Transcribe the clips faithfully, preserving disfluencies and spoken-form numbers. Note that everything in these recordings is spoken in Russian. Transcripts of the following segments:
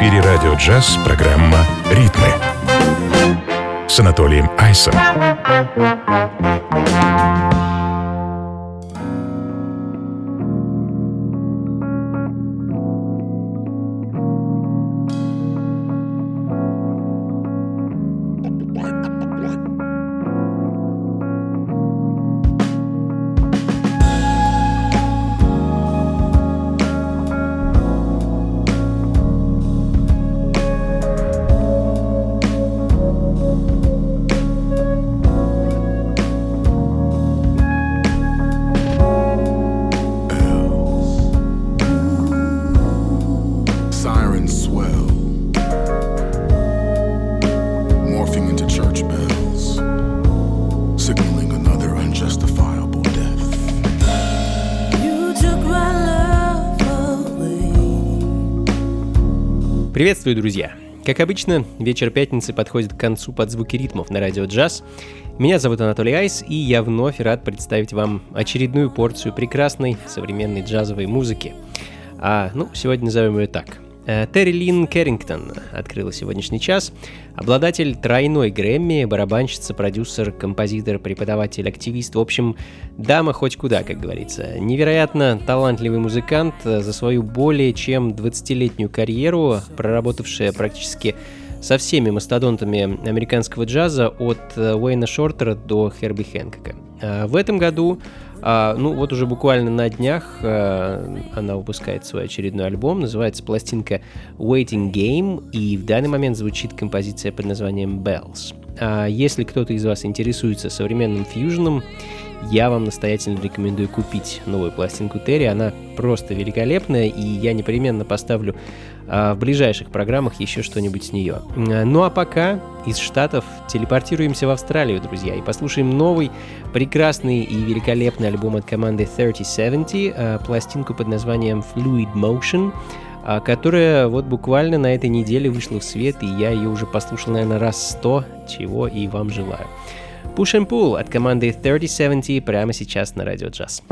эфире радио «Джаз» программа «Ритмы» с Анатолием Айсом. Приветствую, друзья! Как обычно, вечер пятницы подходит к концу под звуки ритмов на радио «Джаз». Меня зовут Анатолий Айс, и я вновь рад представить вам очередную порцию прекрасной современной джазовой музыки. А, ну, сегодня назовем ее так. Терри Лин Кэррингтон открыла сегодняшний час. Обладатель тройной Грэмми, барабанщица, продюсер, композитор, преподаватель, активист. В общем, дама хоть куда, как говорится. Невероятно талантливый музыкант, за свою более чем двадцатилетнюю карьеру, проработавшая практически со всеми мастодонтами американского джаза, от Уэйна Шортера до Херби Хэнкока. В этом году, ну вот уже буквально на днях, она выпускает свой очередной альбом, называется пластинка Waiting Game, и в данный момент звучит композиция под названием Bells. Если кто-то из вас интересуется современным фьюженом, я вам настоятельно рекомендую купить новую пластинку Терри, она просто великолепная, и я непременно поставлю а, в ближайших программах еще что-нибудь с нее. Ну а пока из Штатов телепортируемся в Австралию, друзья, и послушаем новый, прекрасный и великолепный альбом от команды тридцать семьдесят, а, пластинку под названием Fluid Motion, а, которая вот буквально на этой неделе вышла в свет, и я ее уже послушал, наверное, раз сто, чего и вам желаю. Push and Pull от команды тридцать семьдесят прямо сейчас на радио «Джаз».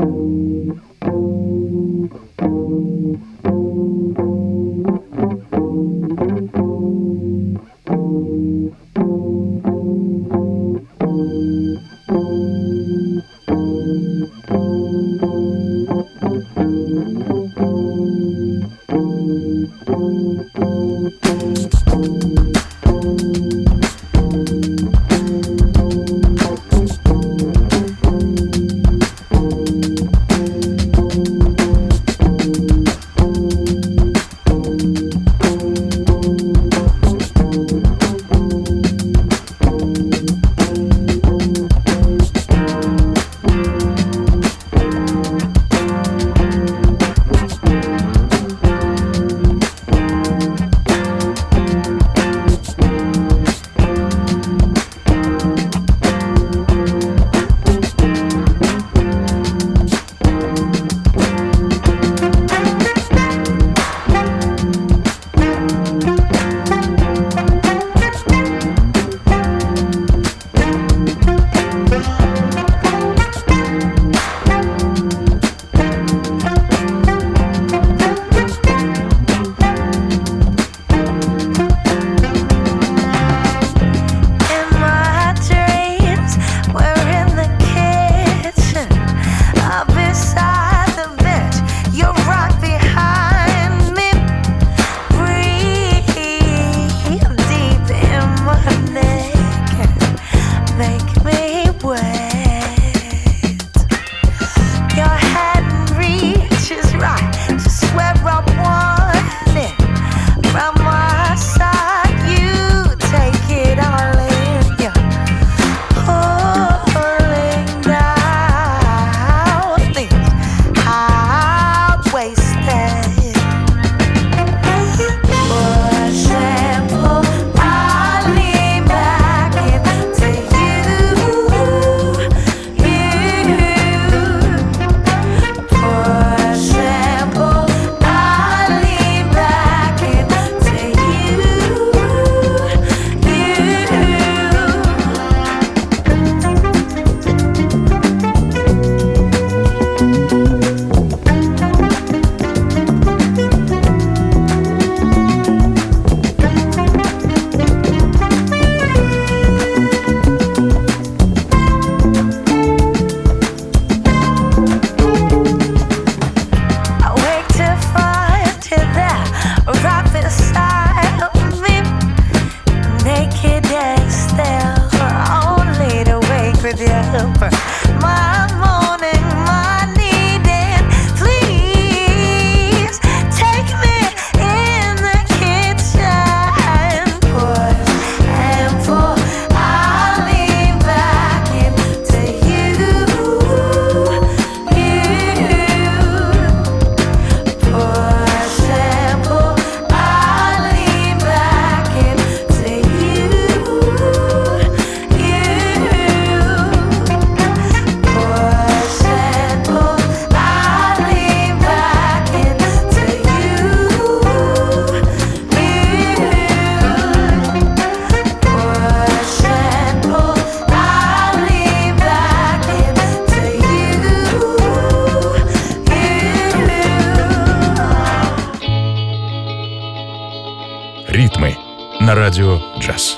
на радио «Джаз».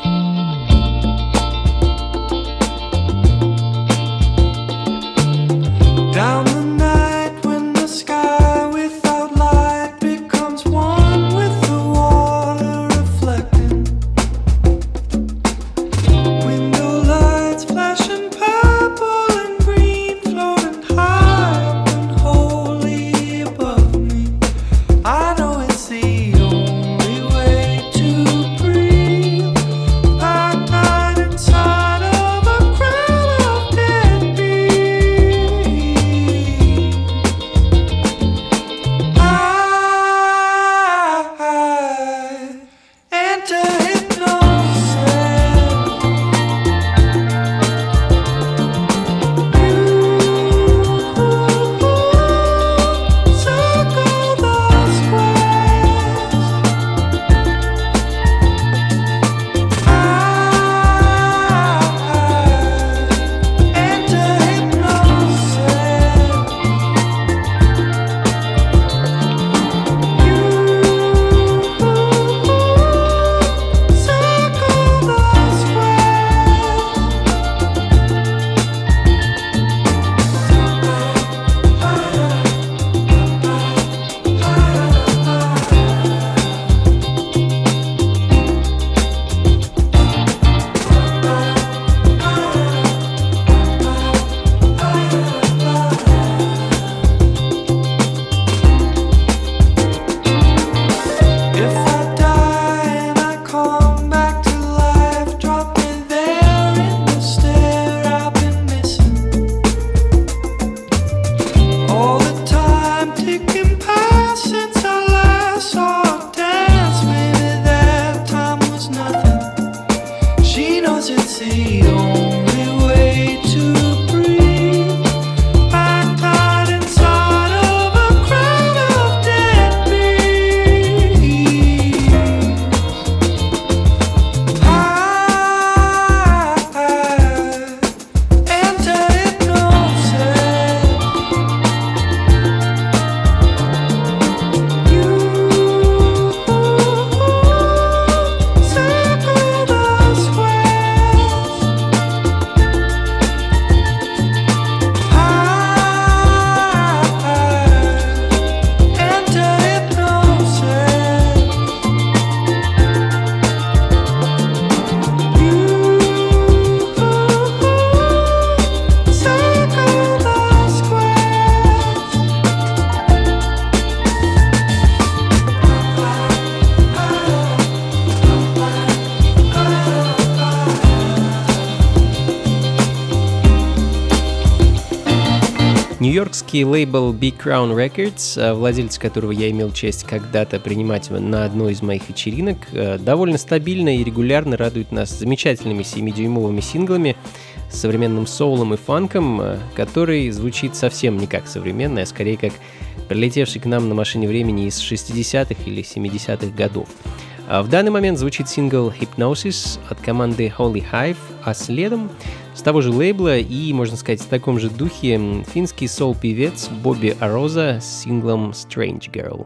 Нью-йоркский лейбл Big Crown Records, владелец которого я имел честь когда-то принимать на одной из моих вечеринок, довольно стабильно и регулярно радует нас замечательными семидюймовыми синглами с современным соулом и фанком, который звучит совсем не как современный, а скорее как прилетевший к нам на машине времени из шестидесятых или семидесятых годов. В данный момент звучит сингл Hypnosis от команды Holy Hive, а следом с того же лейбла и, можно сказать, в таком же духе финский соул-певец Бобби Ароза с синглом Strange Girl.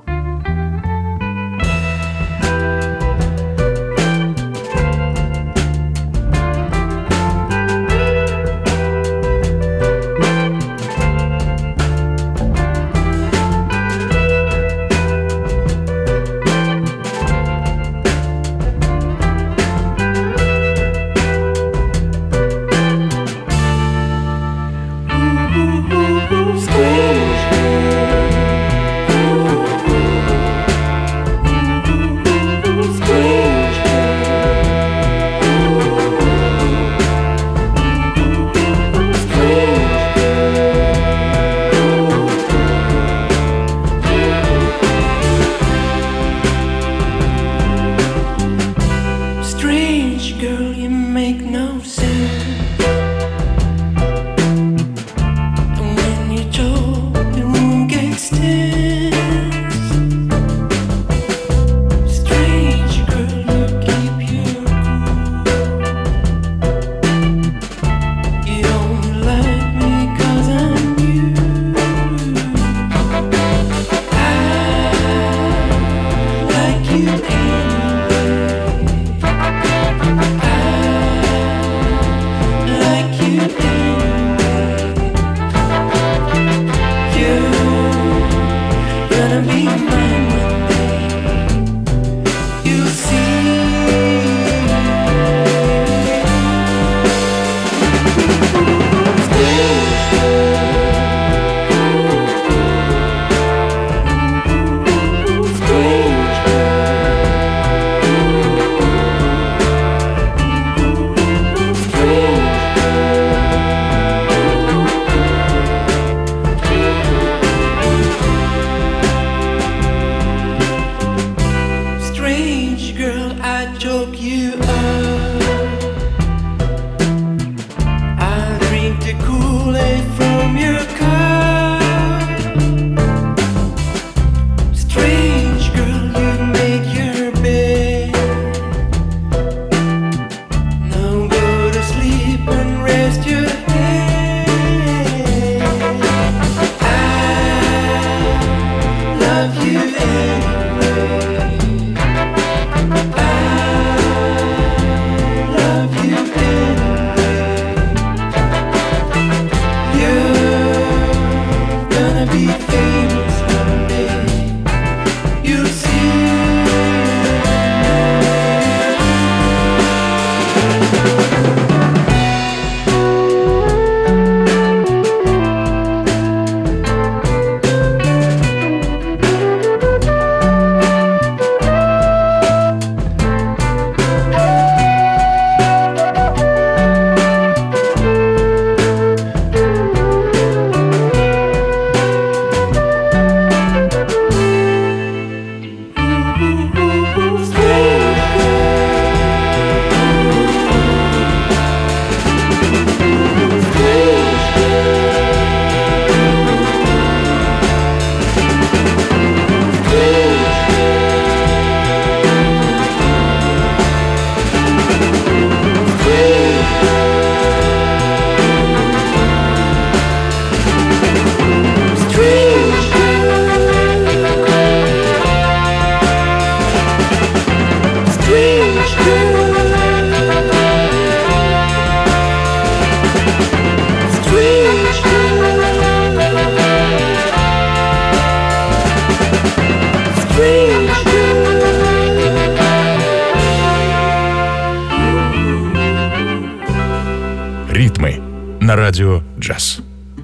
Ритмы на радио «Джаз».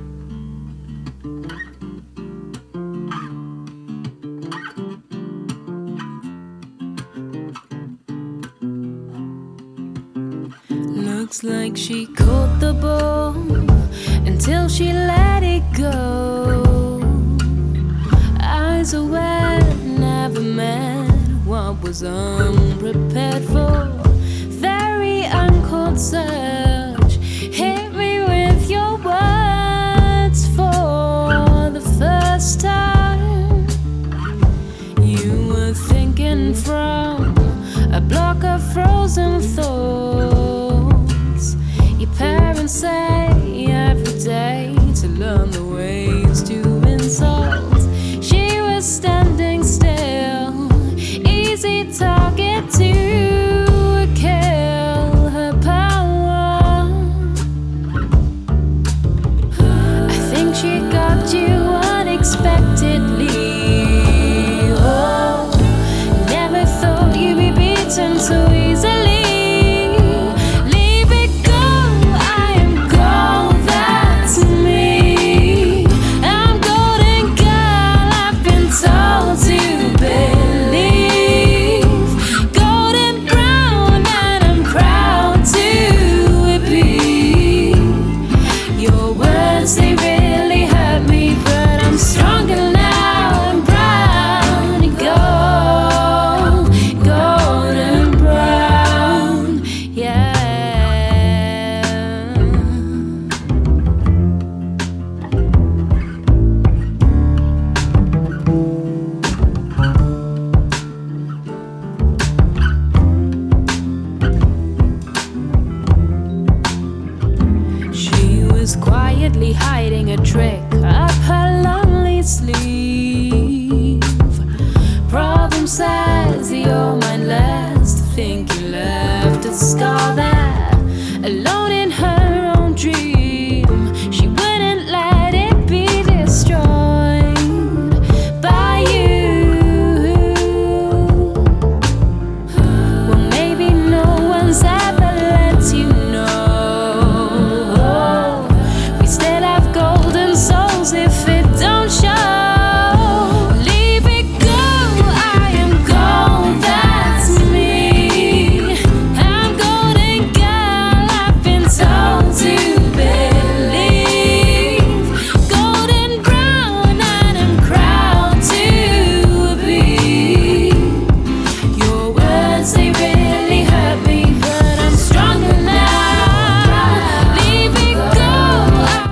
Looks like she caught the ball until she let it go. Eyes are wet, never met what was unprepared for. Very uncalled search, hit me with your words for the first time. You were thinking from a block of frozen thoughts. Your parents say every day to learn the ways to insult. She was standing still, easy target to kill. Her power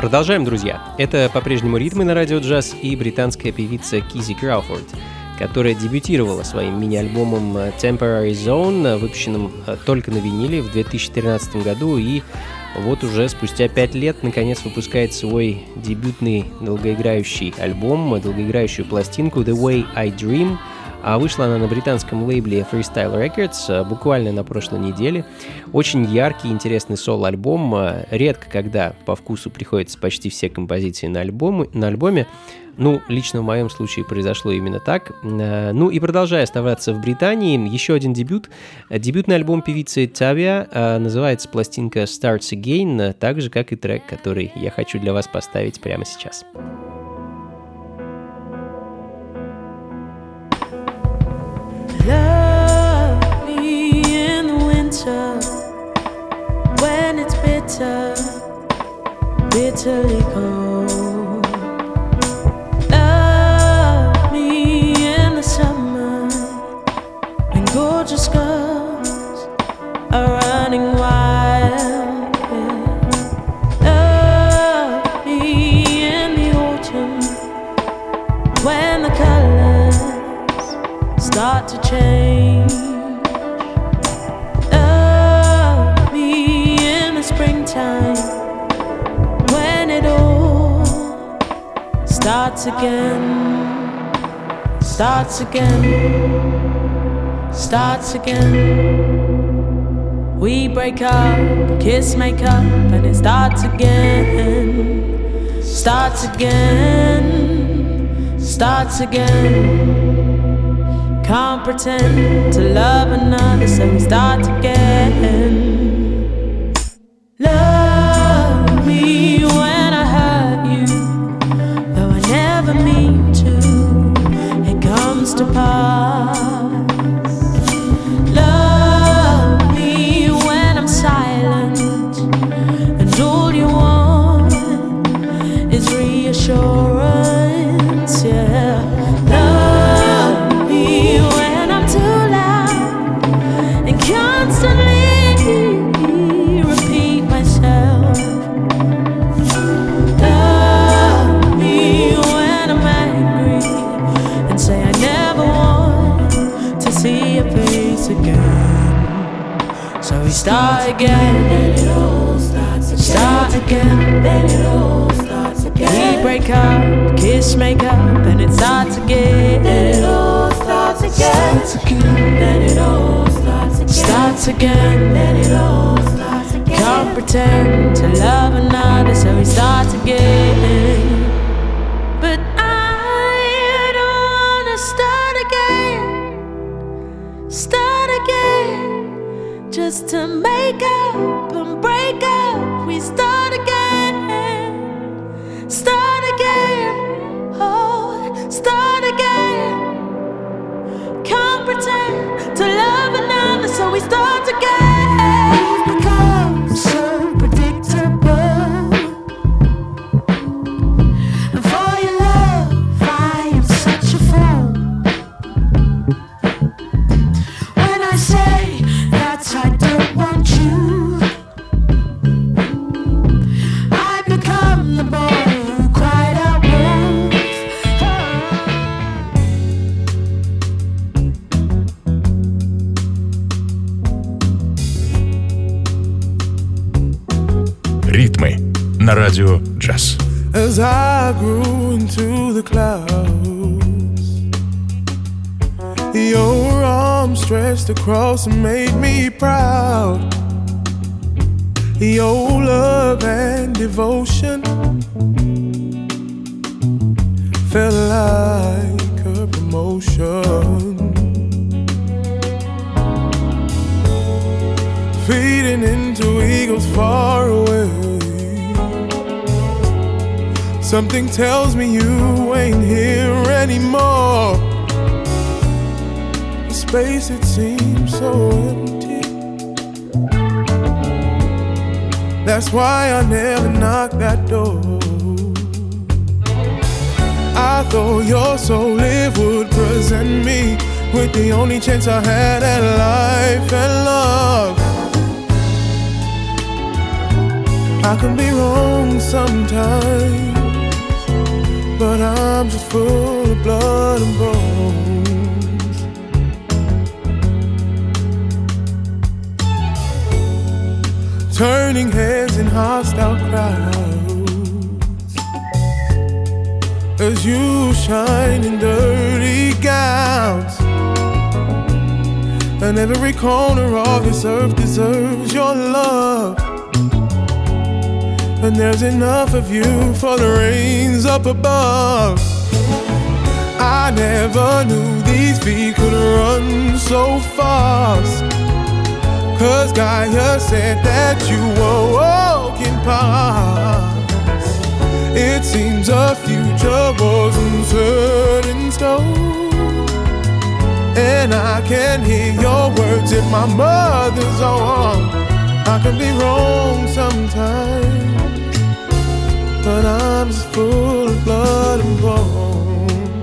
Продолжаем, друзья. Это по-прежнему «Ритмы» на радио джаз и британская певица Кизи Крауфорд, которая дебютировала своим мини-альбомом Temporary Zone, выпущенным только на виниле в две тысячи тринадцатом году, и вот уже спустя пять лет наконец выпускает свой дебютный долгоиграющий альбом, долгоиграющую пластинку The Way I Dream. А вышла она на британском лейбле Freestyle Records буквально на прошлой неделе. Очень яркий, интересный соло-альбом. Редко когда по вкусу приходятся почти все композиции на, альбому, на альбоме. Ну, лично в моем случае произошло именно так. Ну и продолжая оставаться в Британии, еще один дебют. Дебютный альбом певицы Tavia, называется пластинка Starts Again, так же, как и трек, который я хочу для вас поставить прямо сейчас. Love me in the winter when it's bitter, bitterly cold. Love me in the summer when gorgeous girls are running wild. Yeah. Love me in the autumn when the colors start to change. Love me in the springtime when it all starts again, starts again, starts again. We break up, kiss, make up, and it starts again, starts again, starts again. Can't pretend to love another, so we start again. Love me when I hurt you, though I never mean to, it comes to pass. Love me when I'm silent, and all you want is reassurance, yeah. Constantly repeat myself. Love me when I'm angry, and say I never want to see your face again. So we start again, then it all starts again. Start again, then it all starts again. We break up, kiss, make up, and it starts again. Then it all starts again. Starts again, then it all starts again. Starts again, then it all starts again. Can't pretend to love another, so we start again. But I don't wanna start again, start again, just to make up and break up. We start again, start again, oh, start again. Can't pretend to love another, so we start again. We've become so predictable, and for your love I am such a fool. When I say that I don't want you, I become the boy who cried out wolf. Ритмы на радио джаз. As I grew into the clouds, your arms stretched across and made me proud. Your love and devotion felt like a promotion, feeding into eagles far away. Something tells me you ain't here anymore. The space, it seems so empty. That's why I never knock that door. I thought your soul it would present me with the only chance I had at life and love. I can be wrong sometimes, but I'm just full of blood and bones. Turning heads in hostile crowds as you shine in dirty gowns. And every corner of this earth deserves your love. And there's enough of you for the rains up above. I never knew these feet could run so fast, 'cause Gaia said that you were walking past. It seems a future wasn't set in stone, and I can hear your words in my mother's arm. I can be wrong sometimes, but I'm just full of blood and bones.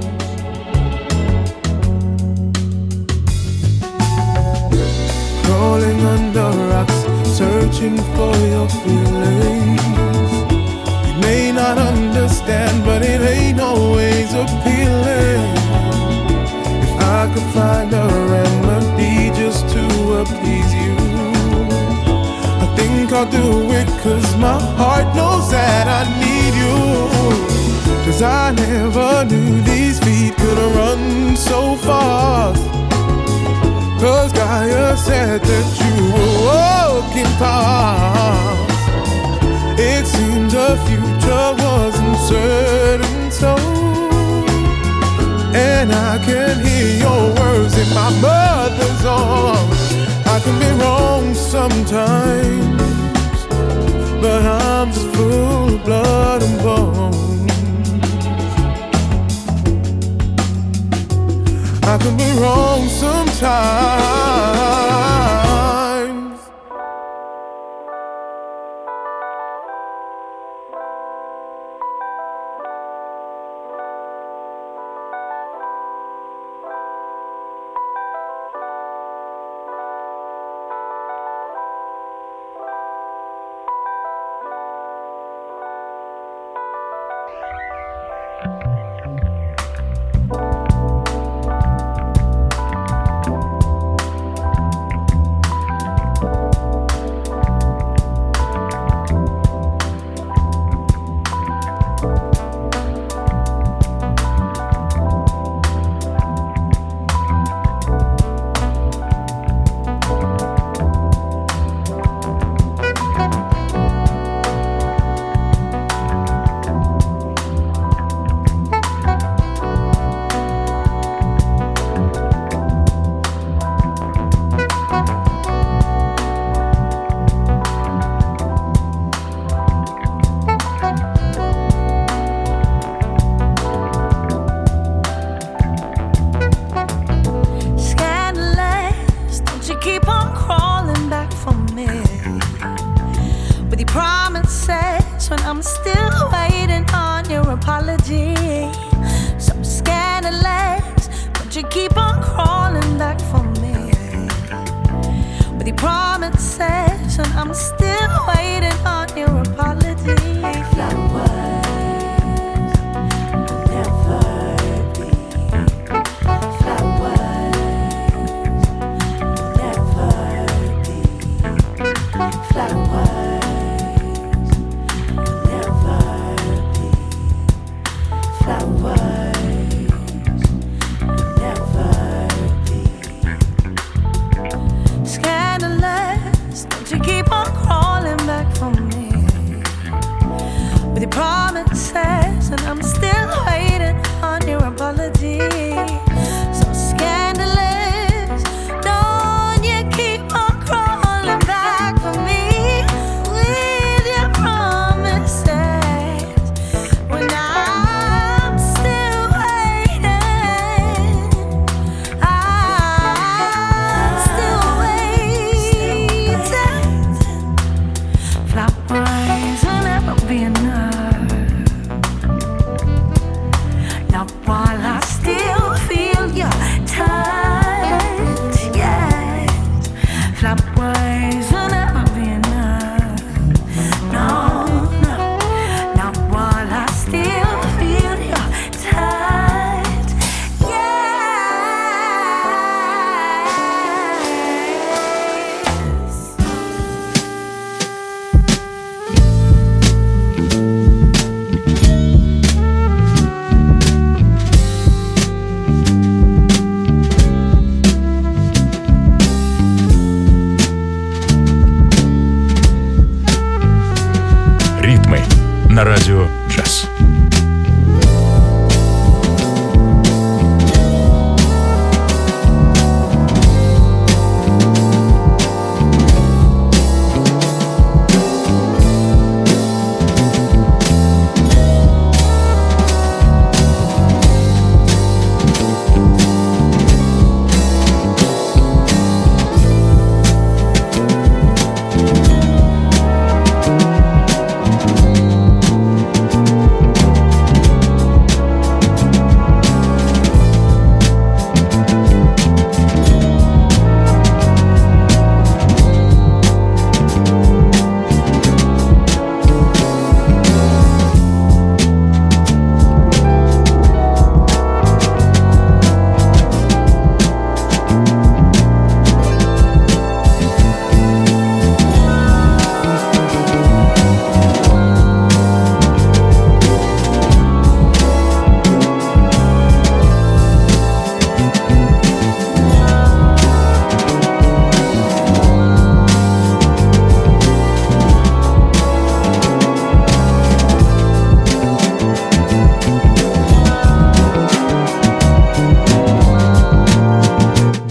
Crawling under rocks, searching for your feelings. You may not understand, but it ain't always appealing. I could find a remedy just to appease you, I think I'll do it, 'cause my heart knows that I need you. 'Cause I never knew these feet could run so fast, 'cause Gaia said that you were walking past. It seems the future wasn't certain, so and I can hear your words in my mother's arms. I can be wrong sometimes, but I'm just full of blood and bones. I can be wrong sometimes. Flowers, never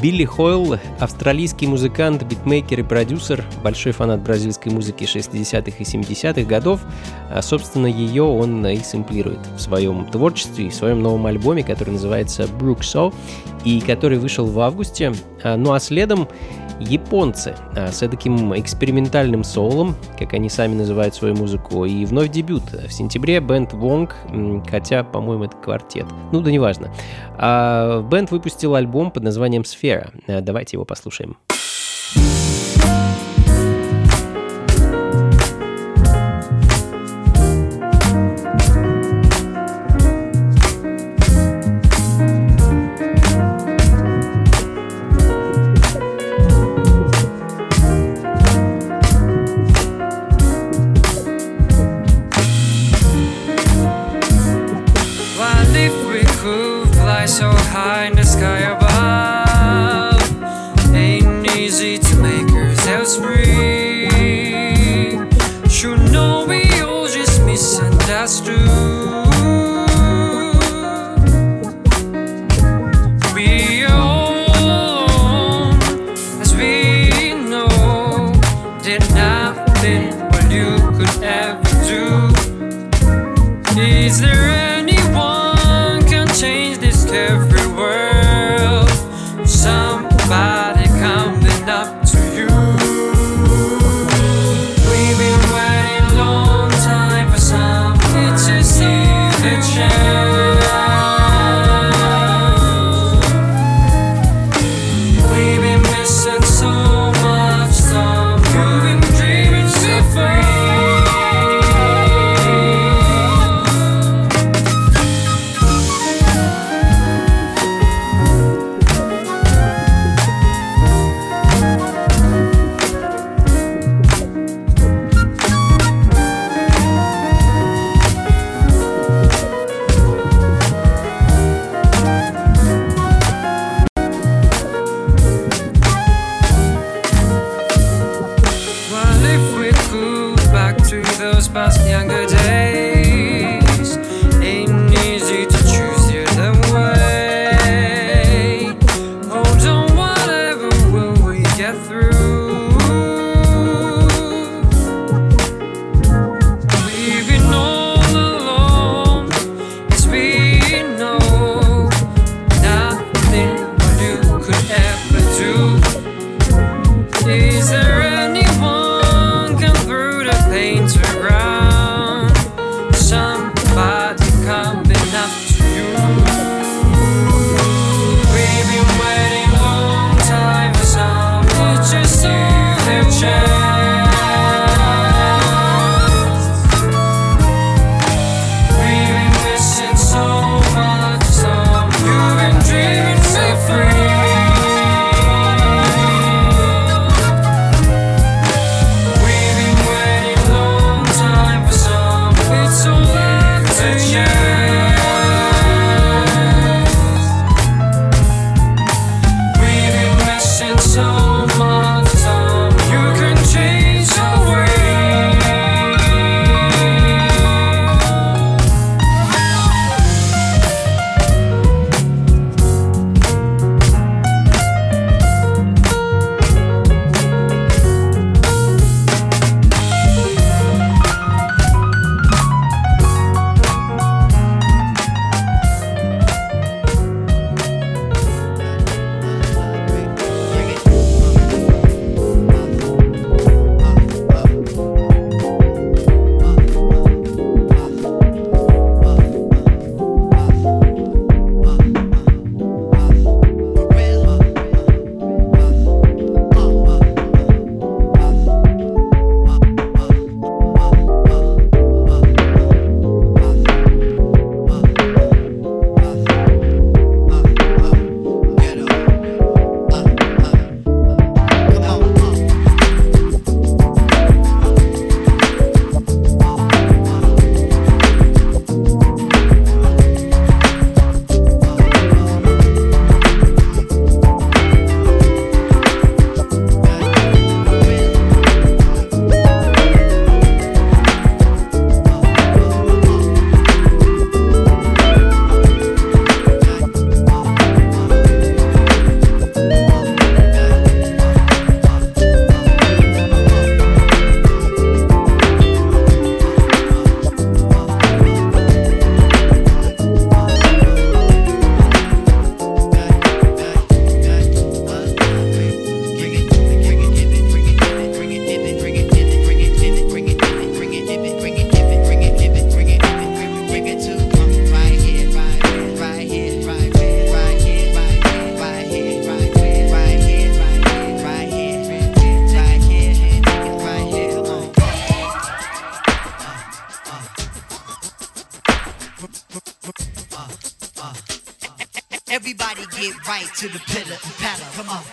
Билли Хойл — австралийский музыкант, битмейкер и продюсер, большой фанат бразильской музыки шестидесятых и семидесятых годов. А, собственно, ее он и сэмплирует в своем творчестве и в своем новом альбоме, который называется Brook So, и который вышел в августе. А, ну а следом японцы а, с таким экспериментальным соулом, как они сами называют свою музыку, и вновь дебют в сентябре бэнд Wong, хотя, по-моему, это квартет, ну да неважно. А, бэнд выпустил альбом под названием «Сфера». А, давайте его послушаем. So high in the sky above, ain't easy to make ourselves free. You know we all just misunderstood. We own, as we know, did nothing what you could ever do. Is there anyone can change this every world? right to the pillar and paddle. Come on.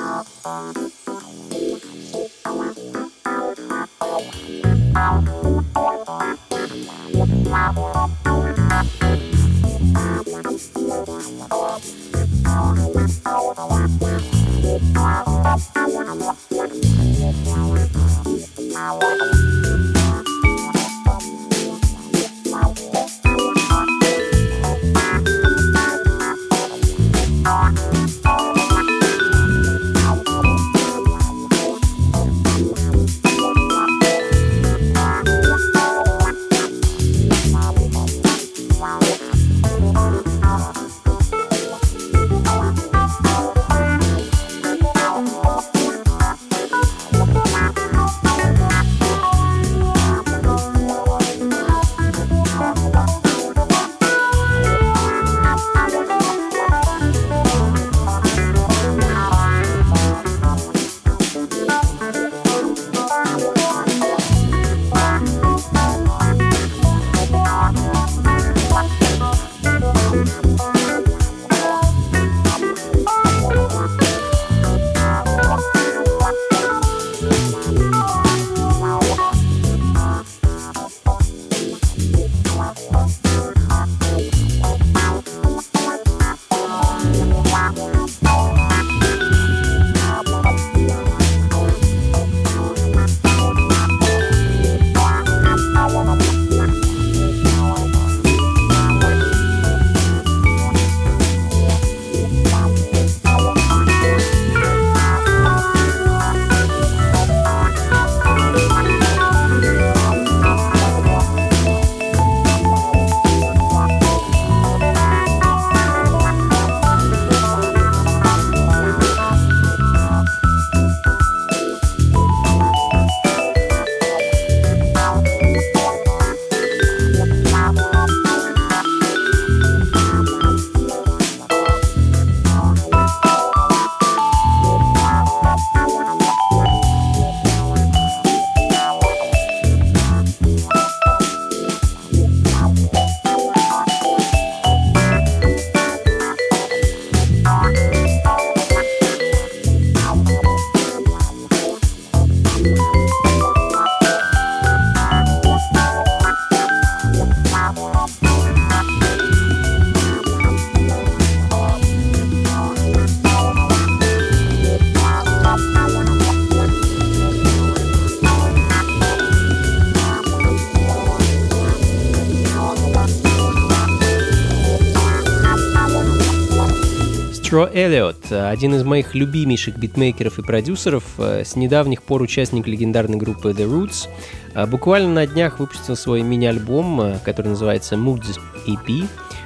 Тро Эллиот, один из моих любимейших битмейкеров и продюсеров, с недавних пор участник легендарной группы The Roots, буквально на днях выпустил свой мини-альбом, который называется Moods и пи.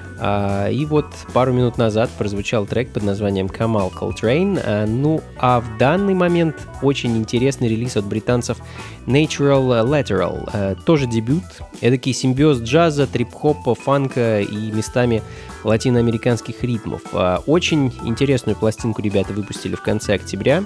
И вот пару минут назад прозвучал трек под названием Камал Coltrane. Ну а в данный момент очень интересный релиз от британцев Natural Lateral. Тоже дебют, эдакий симбиоз джаза, трип-хопа, фанка и местами латиноамериканских ритмов. Очень интересную пластинку ребята выпустили в конце октября.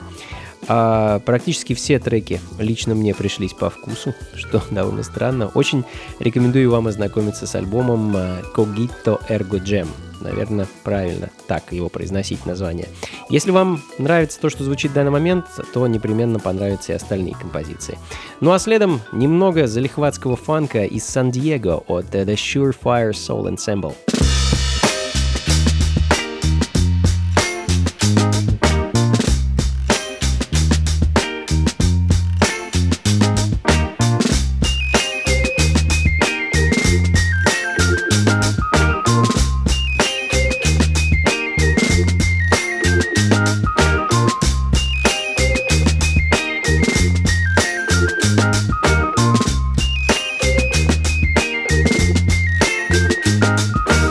А практически все треки лично мне пришлись по вкусу, что довольно странно. Очень рекомендую вам ознакомиться с альбомом Cogito Ergo Gem. Наверное, правильно так его произносить название. Если вам нравится то, что звучит в данный момент, то непременно понравятся и остальные композиции. Ну а следом немного залихватского фанка из Сан-Диего от The Surefire Soul Ensemble. We'll be right back.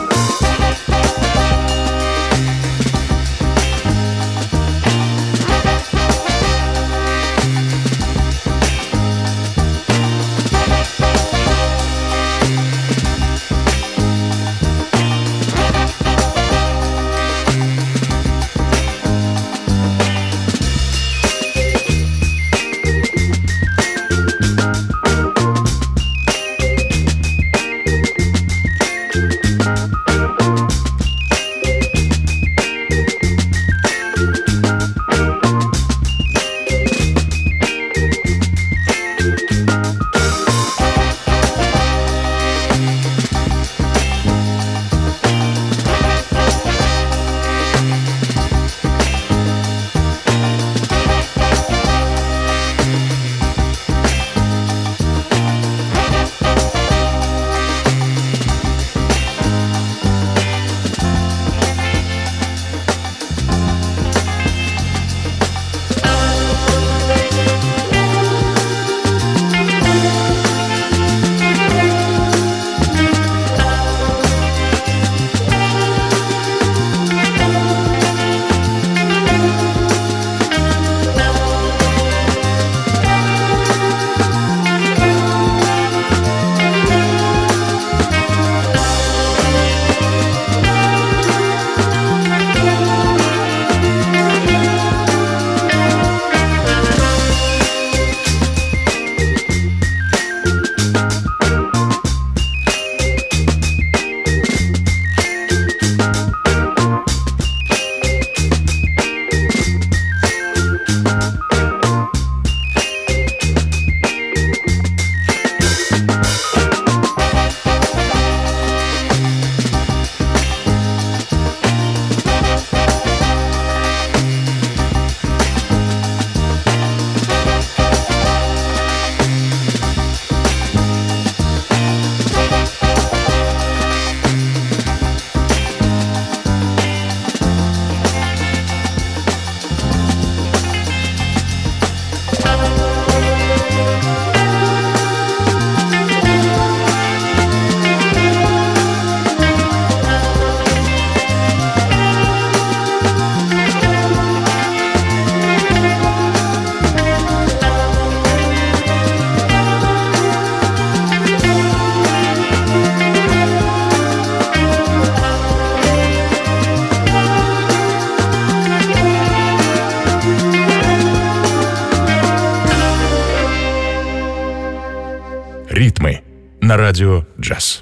на радио «Джаз».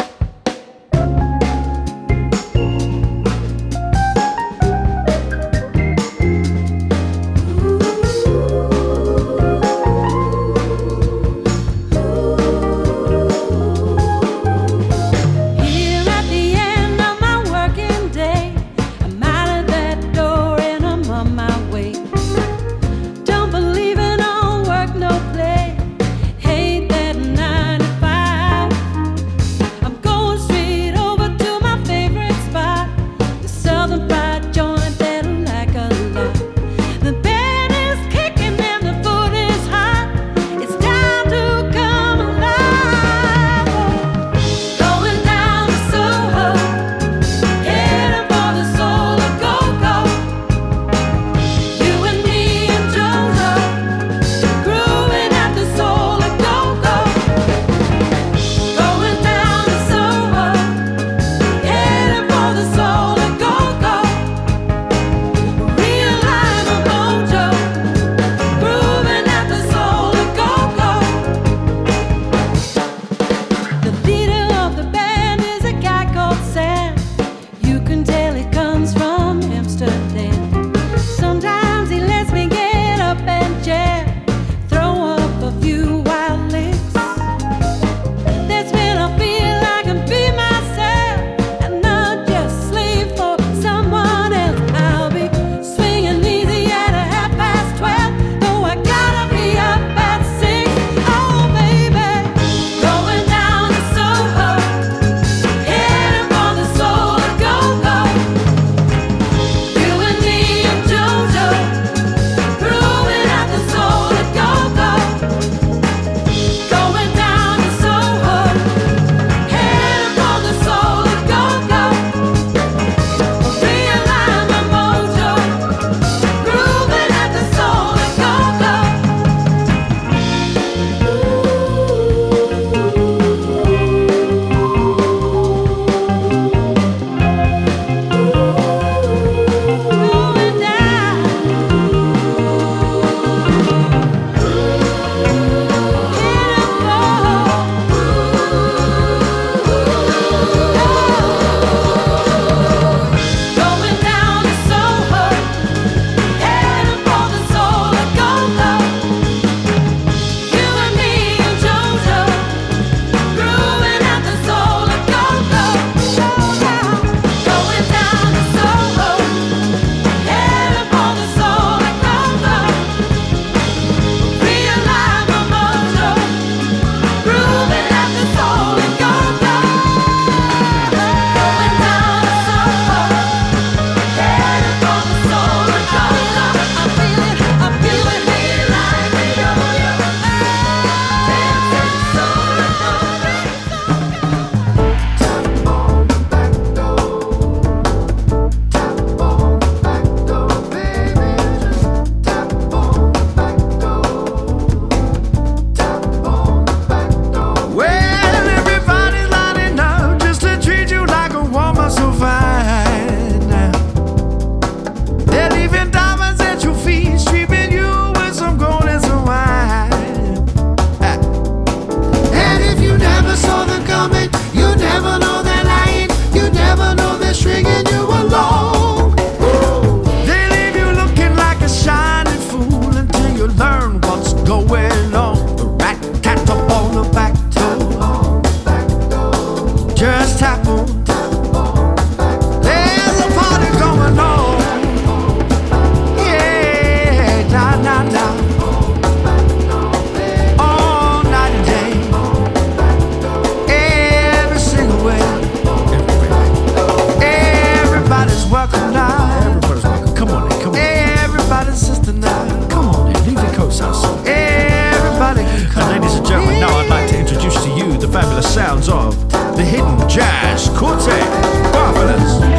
Sounds of the Hidden Jazz Quartet. Marvelous.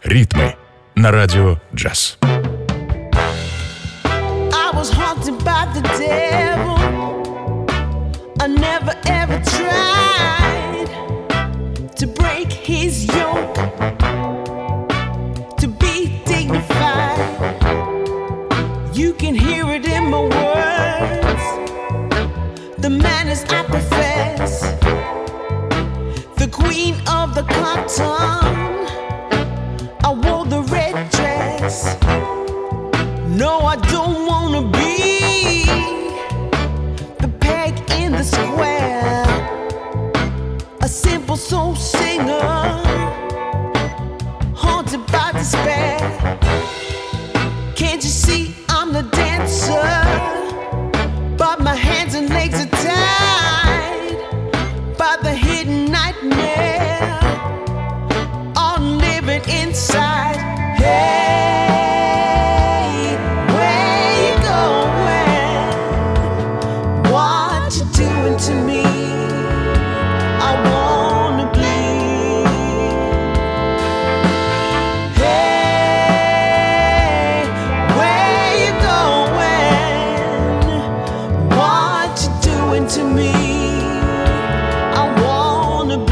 Ритмы на радио джаз. I was haunted by the devil. I never ever tried to break his yoke, to be dignified. You can hear it in my words, the manners I profess, the queen of the cotton. I wore the red dress. No, I don't wanna be the peg in the square, a simple soul singer, haunted by despair. Can't you see I'm the dancer, but my hands and legs are tied by the hidden nightmare I'm living inside. Hey, where you going? What you doing to me? I wanna bleed. Hey, where you going? What you doing to me? I wanna bleed.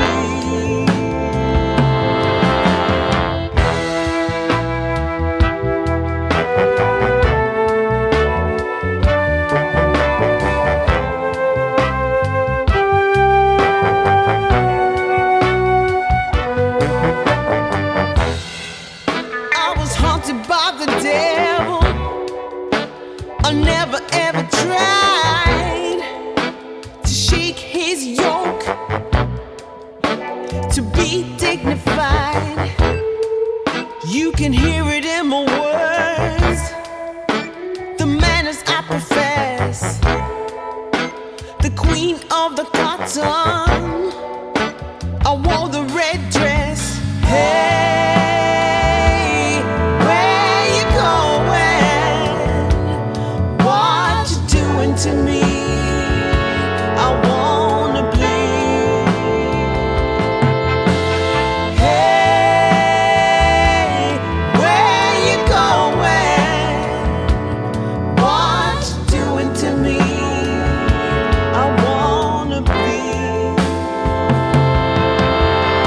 I was haunted by the devil. I never ever tried to shake his yoke, to be dignified. You can hear it in my words, the manners I profess, the queen of the cotton. I wore the red dress. Hey, where you going? What you doing to me? I wanna bleed. Hey, where you going? What you doing to me? I wanna bleed.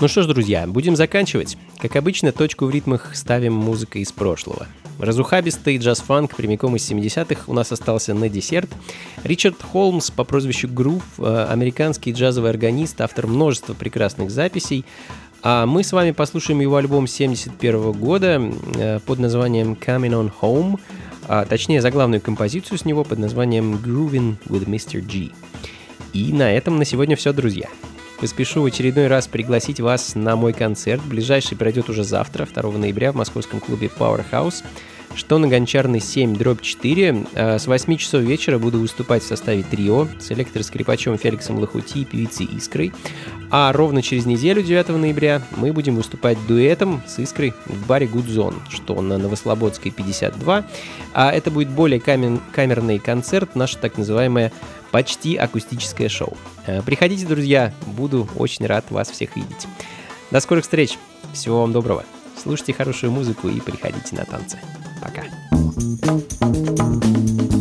Ну что ж, друзья, будем заканчивать. Как обычно, точку в ритмах ставим музыкой из прошлого. Разухабистый джаз-фанк прямиком из семидесятых у нас остался на десерт. Ричард Холмс по прозвищу Грув, американский джазовый органист, автор множества прекрасных записей. А мы с вами послушаем его альбом семьдесят первого года под названием Coming on Home, а точнее заглавную композицию с него под названием Groovin' with мистер G. И на этом на сегодня все, друзья. Поспешу в очередной раз пригласить вас на мой концерт. Ближайший пройдет уже завтра, второго ноября, в московском клубе Powerhouse, что на Гончарной семь дробь четыре. С восьми часов вечера буду выступать в составе трио с электроскрипачом Феликсом Лохути и певицей Искрой. А ровно через неделю, девятого ноября, мы будем выступать дуэтом с Искрой в баре Good Zone, что на Новослободской пятьдесят два. А это будет более камер- камерный концерт, наше так называемое почти акустическое шоу. Приходите, друзья, буду очень рад вас всех видеть. До скорых встреч, всего вам доброго. Слушайте хорошую музыку и приходите на танцы. Пока.